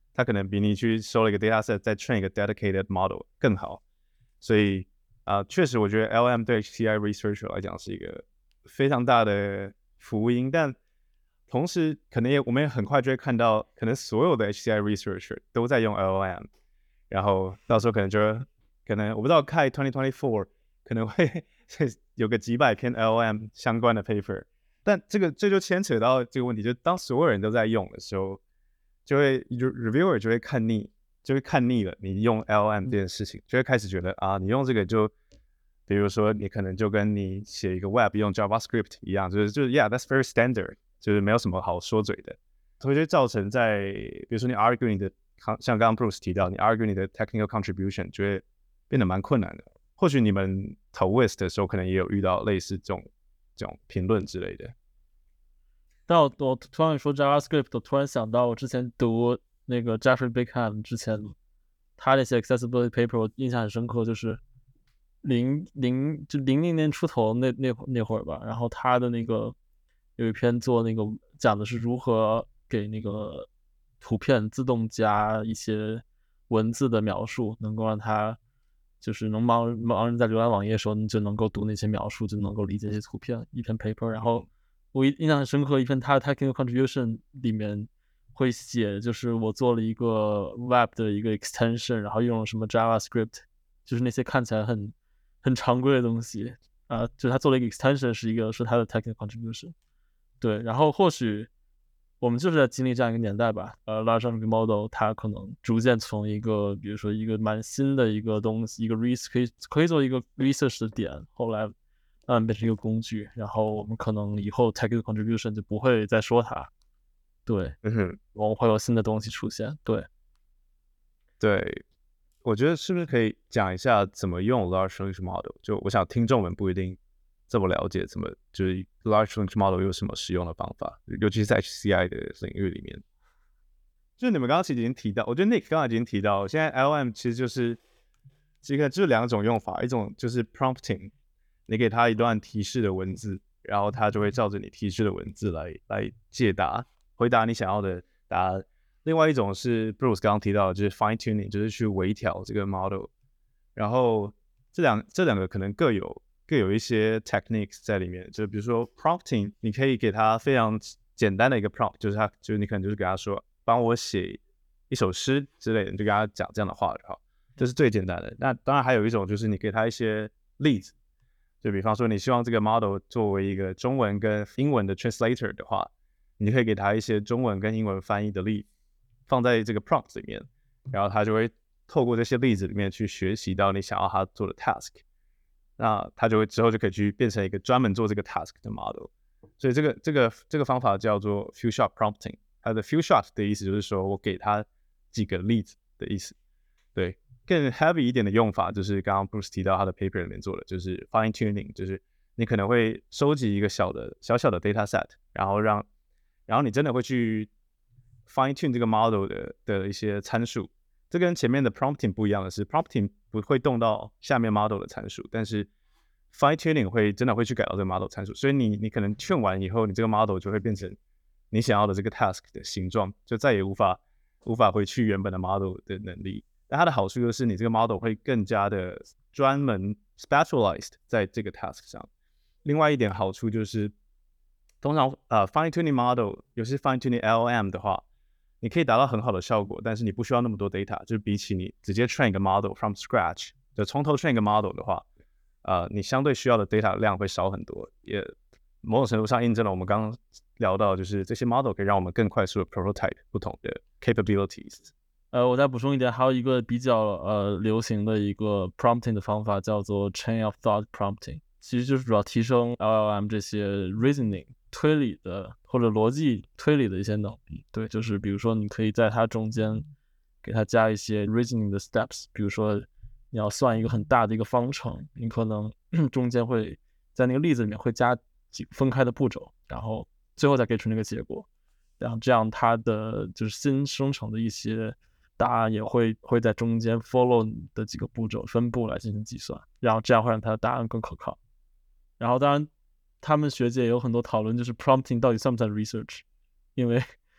Speaker 4: 它可能比你去收了一个 dataset 再 train 一个 dedicated model 更好。所以啊、呃，确实我觉得 L M 对 H C I researcher 来讲是一个非常大的福音，但同时可能也我们也很快就会看到，可能所有的 H C I researcher 都在用 L M， 然后到时候可能就可能我不知道开二零二四可能会有个几百篇 L M 相关的 paper， 但这个这就牵扯到这个问题，就是当所有人都在用的时候，就会 reviewer 就会看腻，就会看腻了你用 L M 这件事情，就会开始觉得啊，你用这个就，比如说你可能就跟你写一个 web 用 JavaScript 一样，就是就是 yeah that's very standard， 就是没有什么好说嘴的，所以就造成在比如说你 argue 你的，像刚刚 Bruce 提到，你 argue 你的 technical contribution 就会变得蛮困难的。或许你们投 Wist 的时候，可能也有遇到类似这种这种评论之类的。
Speaker 2: 但我我突然说 JavaScript， 我突然想到我之前读那个 Jeffrey Bickham 之前他那些 accessibility paper， 我印象很深刻，就是零零就零零年出头那那那会儿吧。然后他的那个有一篇做那个讲的是如何给那个图片自动加一些文字的描述，能够让它就是能帮盲人在浏览网页的时候，你就能够读那些描述，就能够理解这些图片。一篇 paper， 然后我印象很深刻，一篇他的 technical contribution 里面会写，就是我做了一个 web 的一个 extension， 然后用了什么 JavaScript， 就是那些看起来很很常规的东西啊、呃，就是他做了一个 extension， 是一个是他的 technical contribution。对，然后或许我们就是在经历这样一个年代吧，呃 ，large language model 它可能逐渐从一个，比如说一个蛮新的一个东西，一个 research 可以可以做一个 research 的点，后来慢慢变成一个工具，然后我们可能以后 technical contribution 就不会再说它，对，
Speaker 4: 嗯哼，
Speaker 2: 我们会有新的东西出现，对，
Speaker 4: 对，我觉得是不是可以讲一下怎么用 large language model？ 就我想听众们不一定这么了解，怎么就是 large language model 有什么使用的方法，尤其是在 H C I 的领域里面。就是你们刚刚其实已经提到，我觉得 Nick 刚刚已经提到，现在 L M 其实就是这个就是两种用法，一种就是 prompting， 你给他一段提示的文字，然后他就会照着你提示的文字来来解答，回答你想要的答案。另外一种是 Bruce 刚刚提到的，就是 fine tuning， 就是去微调这个 model。然后这两这两个可能各有各有一些 techniques 在里面，就比如说 prompting， 你可以给他非常简单的一个 prompt， 就是他就是你可能就是给他说帮我写一首诗之类的，你就跟他讲这样的话就好，这是最简单的。那当然还有一种就是你给他一些例子，就比方说你希望这个 model 作为一个中文跟英文的 translator 的话，你就可以给他一些中文跟英文翻译的例子放在这个 prompt 里面，然后他就会透过这些例子里面去学习到你想要他做的 task， 那他就会之后就可以去变成一个专门做这个 task 的 model。所以这个这个这个方法叫做 few shot prompting， 它的 few shot 的意思就是说我给他几个例子的意思。对，更 heavy 一点的用法就是刚刚 Bruce 提到他的 paper 里面做的，就是 fine tuning， 就是你可能会收集一个小的小小的 data set， 然后让然后你真的会去 fine tune 这个 model 的的一些参数。这跟前面的 prompting 不一样的是 prompting 不会动到下面 model 的参数，但是 fine tuning 会真的会去改到这个 model 参数，所以你你可能劝完以后，你这个 model 就会变成你想要的这个 task 的形状，就再也无法无法回去原本的 model 的能力。但它的好处就是你这个 model 会更加的专门 specialized 在这个 task 上。另外一点好处就是，通常呃 fine tuning model， 尤其是 fine tuning L M 的话，你可以达到很好的效果，但是你不需要那么多 data， 就是比起你直接 train 一个 model from scratch， 就从头 train 一个 model 的话，呃，你相对需要的 data 量会少很多，也某种程度上印证了我们刚刚聊到，就是这些 model 可以让我们更快速的 prototype 不同的 capabilities。
Speaker 2: 呃，我再补充一点，还有一个比较呃流行的一个 prompting 的方法叫做 chain of thought prompting， 其实就是主要提升 L L M 这些 reasoning 推理的或者逻辑推理的一些能力。对，就是比如说你可以在它中间给它加一些 reasoning 的 steps， 比如说你要算一个很大的一个方程，你可能中间会在那个例子里面会加几个分开的步骤，然后最后再给出那个结果，然后这样它的就是新生成的一些答案也会会在中间 follow 你的几个步骤分布来进行计算，然后这样会让它的答案更可靠。然后当然他们学界也有很多讨论，就是 prompting 到底算不算 research， 因为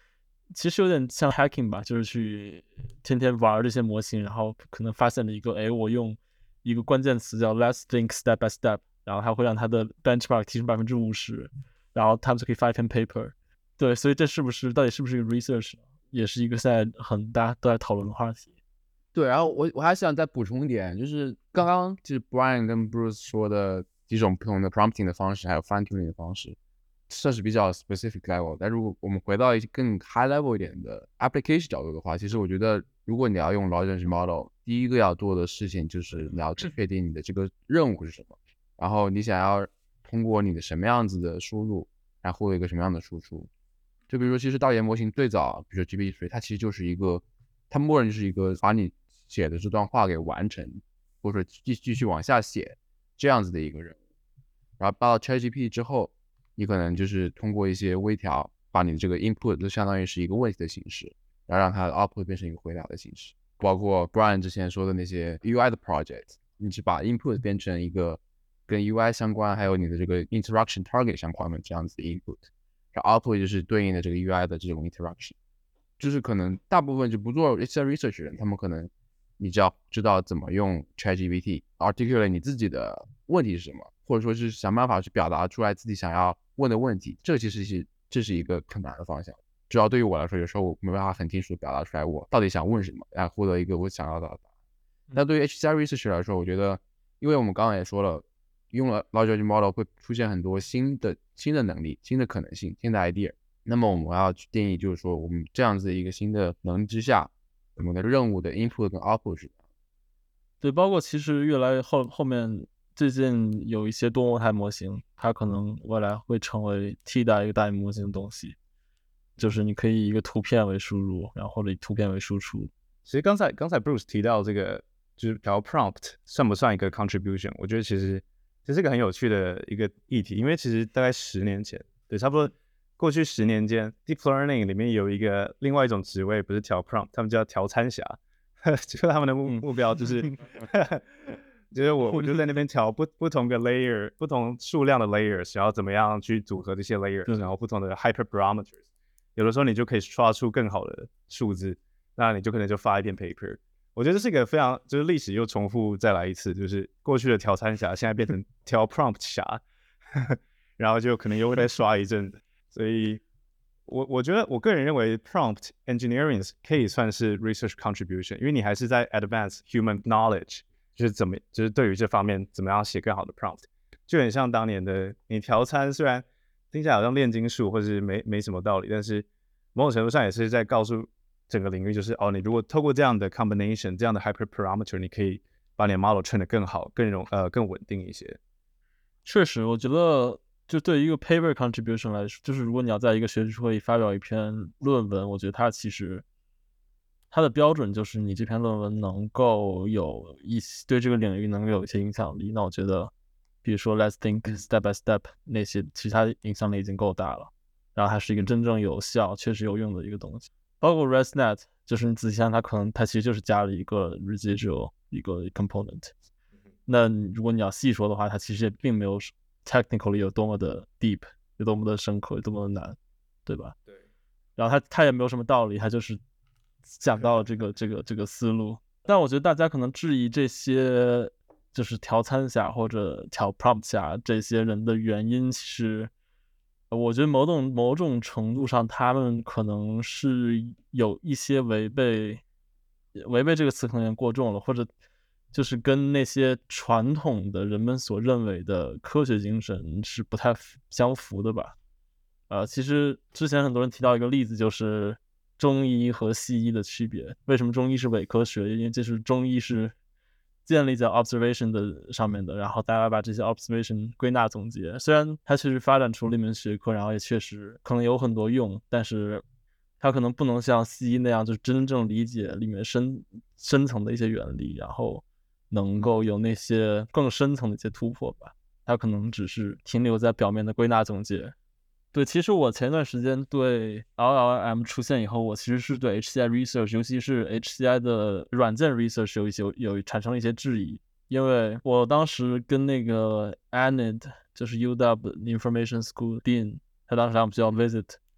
Speaker 2: 其实有点像 hacking 吧，就是去天天玩这些模型，然后可能发现了一个，哎，我用一个关键词叫 let's think step by step， 然后它会让它的 benchmark 提升百分之五十，然后他们就可以发一篇 paper。对，所以这是不是到底是不是一个 research， 也是一个现在很大家都在讨论的话题。
Speaker 3: 对，然后我我还想再补充一点，就是刚刚就是 Brian 跟 Bruce 说的几种不同的 prompting 的方式，还有 fine tuning 的方式，这是比较 specific level。但如果我们回到一些更 high level 一点的 application 角度的话，其实我觉得，如果你要用 large language model，第一个要做的事情就是你要确定你的这个任务是什么，然后你想要通过你的什么样子的输入，然后获得一个什么样的输出。就比如说，其实道言模型最早，比如说 G P T 三，它其实就是一个，它默认就是一个把你写的这段话给完成，或者说继继续往下写这样子的一个任务。然后到 ChatGPT 之后，你可能就是通过一些微调，把你的这个 input 就相当于是一个问题的形式，然后让它的 output 变成一个回答的形式。包括 Brian 之前说的那些 U I 的 project， 你是把 input 变成一个跟 U I 相关，还有你的这个 interaction target 相关的这样子的 input。然后 output 就是对应的这个 U I 的这种 interaction， 就是可能大部分就不做 H C I research 的人，他们可能你只要知道怎么用 ChatGPT articulate 你自己的问题是什么，或者说是想办法去表达出来自己想要问的问题，这其实是这是一个很难的方向。主要对于我来说，有时候我没办法很清楚的表达出来我到底想问什么，然后获得一个我想要的答案。但对于 H C I research 来说，我觉得，因为我们刚刚也说了，用了 large language model 会出现很多新的新的能力、新的可能性、新的 idea。那么我们要去定义，就是说我们这样子一个新的能力之下，我们的任务的 input 跟 output 是什么？
Speaker 2: 对，包括其实越来越后后面最近有一些多模态模型，它可能未来会成为替代一个大语模型的东西，就是你可以以一个图片为输入，然后或者以图片为输出。
Speaker 4: 其实刚才刚才 Bruce 提到这个，就是调 prompt 算不算一个 contribution？ 我觉得其实这是个很有趣的一个议题，因为其实大概十年前，对，差不多过去十年间 ，deep learning 里面有一个另外一种职位，不是调 prompt， 他们叫调参侠，就是他们的目目标就是，就是我我就在那边调不不同的 layer， 不同数量的 layers， 然后怎么样去组合这些 layers， 然后不同的 hyperparameters， 有的时候你就可以刷出更好的数字，那你就可能就发一篇 paper。我觉得这是一个非常，就是历史又重复再来一次，就是过去的调参侠现在变成调 prompt 侠，然后就可能又会再刷一阵子。所以我我觉得我个人认为 prompt engineering 可以算是 research contribution， 因为你还是在 advance human knowledge， 就是怎么就是对于这方面怎么样写更好的 prompt， 就很像当年的你调参，虽然听起来好像炼金术或是没没什么道理，但是某种程度上也是在告诉整个领域，就是哦，你如果透过这样的 combination， 这样的 hyperparameter， 你可以把你的 model train 得更好、更容呃更稳定一些。
Speaker 2: 确实，我觉得就对于一个 paper contribution 来说，就是如果你要在一个学术会议发表一篇论文，我觉得它其实它的标准就是你这篇论文能够有一些对这个领域能够有一些影响力。那我觉得，比如说 let's think step by step 那些，其实它的影响力已经够大了，然后它是一个真正有效、确实有用的一个东西。包括 ResNet， 就是你仔细看，它可能它其实就是加了一个 residual 一个 component。那如果你要细说的话，它其实也并没有 technically 有多么的 deep， 有多么的深刻，有多么的难，对吧？
Speaker 4: 对。
Speaker 2: 然后它它也没有什么道理，它就是讲到了这个这个这个思路。但我觉得大家可能质疑这些就是调参侠或者调 prompt 侠这些人的原因，其实我觉得某种某种程度上，他们可能是有一些违背违背这个词可能有点过重了，或者就是跟那些传统的人们所认为的科学精神是不太相符的吧。呃，其实之前很多人提到一个例子，就是中医和西医的区别。为什么中医是伪科学？因为这是中医是建立在 observation 的上面的，然后大家把这些 observation 归纳总结。虽然它确实发展出了一门学科，然后也确实可能有很多用，但是它可能不能像西医那样，就是真正理解里面深深层的一些原理，然后能够有那些更深层的一些突破吧。它可能只是停留在表面的归纳总结。对，其实我前段时间对 L L M 出现以后，我其实是对 H C I research， 尤其是 H C I 的软件 research 有一些有产生了一些质疑，因为我当时跟那个 Anand， 就是 U W Information School Dean， 他当时让我们叫 visit，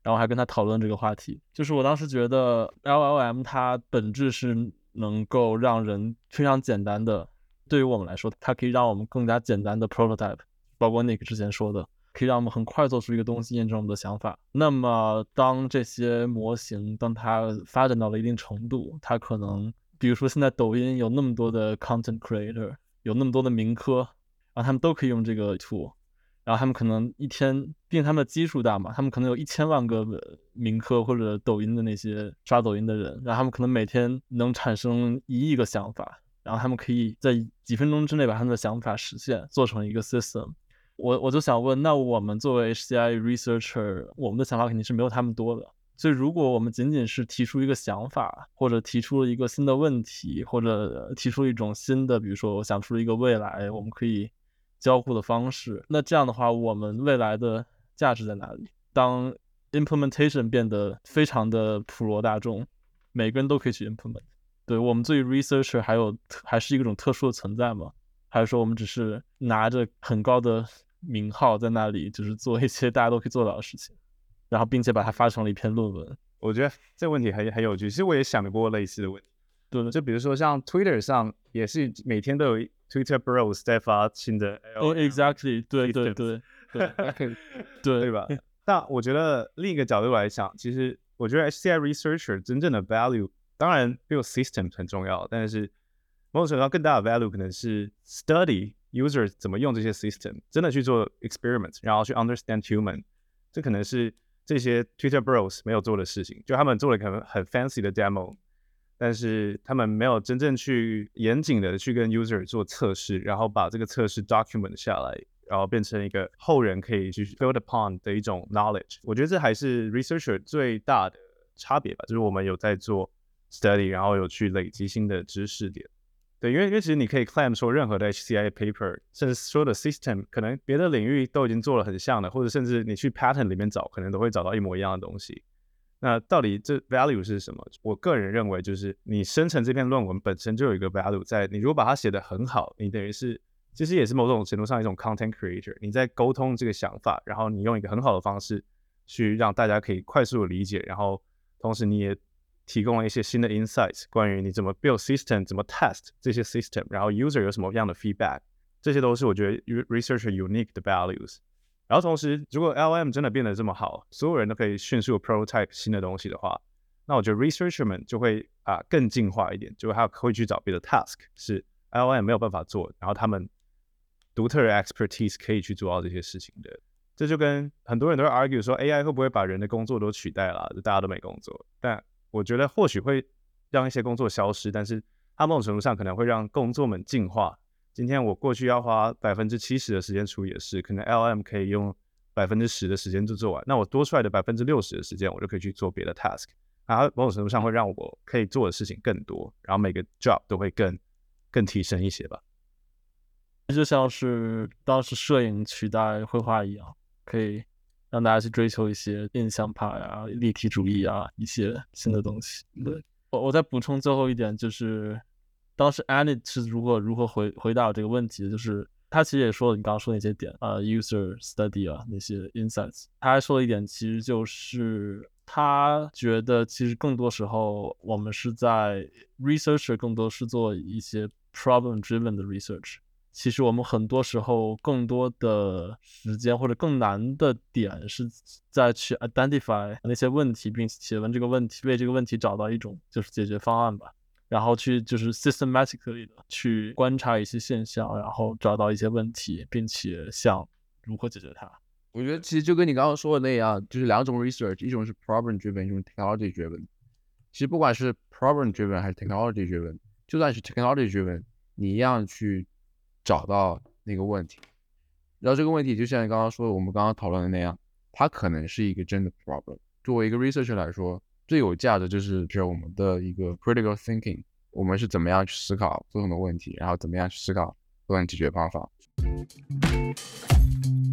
Speaker 2: 然后还跟他讨论这个话题。就是我当时觉得 L L M 它本质是能够让人非常简单的，对于我们来说，它可以让我们更加简单的 prototype， 包括 Nick 之前说的，可以让我们很快做出一个东西验证我们的想法。那么当这些模型当它发展到了一定程度，它可能比如说现在抖音有那么多的 content creator， 有那么多的名科，然后他们都可以用这个 tool， 然后他们可能一天，毕竟他们的基数大嘛，他们可能有一千万个名科或者抖音的那些刷抖音的人，然后他们可能每天能产生一亿个想法，然后他们可以在几分钟之内把他们的想法实现，做成一个 system。我我就想问，那我们作为 H C I researcher， 我们的想法肯定是没有他们多的。所以如果我们仅仅是提出一个想法，或者提出了一个新的问题，或者提出一种新的，比如说我想出了一个未来我们可以交互的方式，那这样的话我们未来的价值在哪里？当 implementation 变得非常的普罗大众，每个人都可以去 implement， 对，我们作为 researcher 还有还是一种特殊的存在吗？还是说我们只是拿着很高的名号在那里，就是做一些大家都可以做到的事情，然后并且把它发成了一篇论文？
Speaker 4: 我觉得这个问题很很有趣，其实我也想过类似的问题。
Speaker 2: 对，
Speaker 4: 就比如说像 Twitter 上也是每天都有 Twitter Bros 在发新的 L L M，
Speaker 2: oh, exactly， 对对对对
Speaker 4: 对
Speaker 2: 对
Speaker 4: 吧？但我觉得另一个角度来讲，其实我觉得 H C I researcher 真正的 value， 当然 build system 很重要，但是某种程度上更大的 value 可能是 study user 怎么用这些 system， 真的去做 experiment， 然后去 understand human， 这可能是这些 Twitter Bros 没有做的事情，就他们做了可能很 fancy 的 demo， 但是他们没有真正去严谨的去跟 user 做测试，然后把这个测试 document 下来，然后变成一个后人可以去 build upon 的一种 knowledge。 我觉得这还是 researcher 最大的差别吧，就是我们有在做 study， 然后有去累积新的知识点。对，因为因为其实你可以 claim 说任何的 H C I paper， 甚至所有的 system， 可能别的领域都已经做了很像的，或者甚至你去 patent 里面找，可能都会找到一模一样的东西。那到底这 value 是什么？我个人认为就是你生成这篇论文本身就有一个 value 在，你如果把它写得很好，你等于是其实也是某种程度上一种 content creator， 你在沟通这个想法，然后你用一个很好的方式去让大家可以快速的理解，然后同时你也提供了一些新的 insights， 关于你怎么 build system， 怎么 test 这些 system， 然后 user 有什么样的 feedback， 这些都是我觉得 researcher unique 的 values。然后同时，如果 L L M 真的变得这么好，所有人都可以迅速 prototype 新的东西的话，那我觉得 researcher 们就会啊、呃、更进化一点，就还会去找别的 task 是 L L M 没有办法做，然后他们独特的 expertise 可以去做到这些事情的。这就跟很多人都会 argue 说 A I 会不会把人的工作都取代了，就大家都没工作。但我觉得或许会让一些工作消失，但是它某种程度上可能会让工作们进化。今天我过去要花百分之七十的时间处理的事，可能 L L M 可以用百分之十的时间就做完，那我多出来的百分之六十的时间，我就可以去做别的 task。它某种程度上会让我可以做的事情更多，然后每个 job 都会更更提升一些吧。
Speaker 2: 就像是当时摄影取代绘画一样，可以让大家去追求一些印象派啊、立体主义啊一些新的东西。对，我我再补充最后一点，就是当时 Annie 是如何如何回回答这个问题的，就是他其实也说了你刚刚说的那些点啊、呃、，user study 啊那些 insights， 他还说了一点，其实就是他觉得其实更多时候我们是在 researcher 更多是做一些 problem driven 的 research。其实我们很多时候更多的时间或者更难的点是在去 identify 那些问题，并且问这个问题，为这个问题找到一种就是解决方案吧，然后去就是 systematically 的去观察一些现象，然后找到一些问题，并且想如何解决它。
Speaker 3: 我觉得其实就跟你刚刚说的那样，就是两种 research， 一种是 problem driven， 一种 technology driven。其实不管是 problem driven 还是 technology driven， 就算是 technology driven， 你一样去找到那个问题，然后这个问题就像你刚刚说的，我们刚刚讨论的那样，它可能是一个真的 problem。作为一个 researcher 来说，最有价的就是就是我们的一个 critical thinking， 我们是怎么样去思考不同的问题，然后怎么样去思考不同的解决方法。